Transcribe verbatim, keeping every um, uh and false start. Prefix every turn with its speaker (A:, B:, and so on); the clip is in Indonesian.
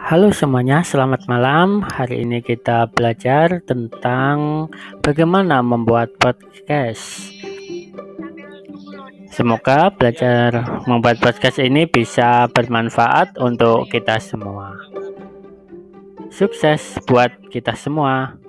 A: Halo semuanya, selamat malam. Hari ini kita belajar tentang bagaimana membuat podcast. Semoga belajar membuat podcast ini bisa bermanfaat untuk kita semua. Sukses buat kita semua.